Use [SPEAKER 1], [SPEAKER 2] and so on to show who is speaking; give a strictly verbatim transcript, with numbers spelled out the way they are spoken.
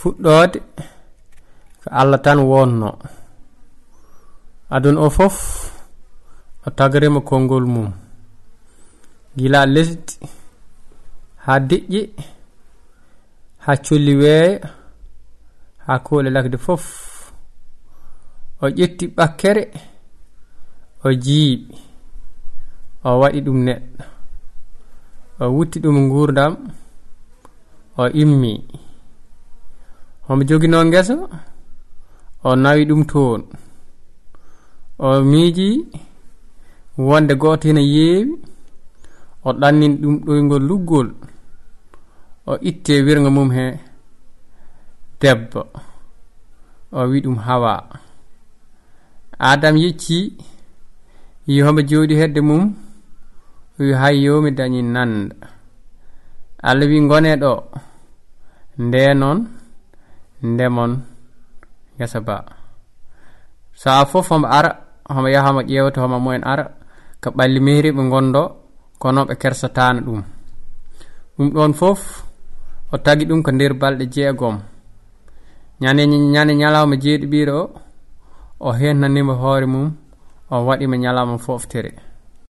[SPEAKER 1] fuɗɗode ko Allah tan wonno adun o fof o tagrima kongol mum gila lesdi ha deƴƴi ha colli weeya ha koole lakde fof o ƴetti ɓakkere o jiiɓi o waɗi ɗum neɗɗo o wutti ɗum ngurdam o immi homo jogino ngesa o nawi ɗum toon o miiji wonde goto hena yeewi o ɗannin ɗum ɗoygol luggol o itte wirga mum he debbo o wi ɗum Hawa. Adam yecci yi homo jooɗi hedde mum wi hayyo mi dañi nanda. Allah wi ngone ɗo nde noon ndemon ngesa ba saa fof homo ara homo yaha homo ƴewta homo mumen ara ko ɓalli mehri ɓe gondo kono ɓe kersatano ɗum ɗum ɗon fof o tagi ɗum ko nder balɗe jeegom ñande ñande ñalawma jeeɗiɓiɗo o o hennanima hoore mum o waɗima ñalawma foftere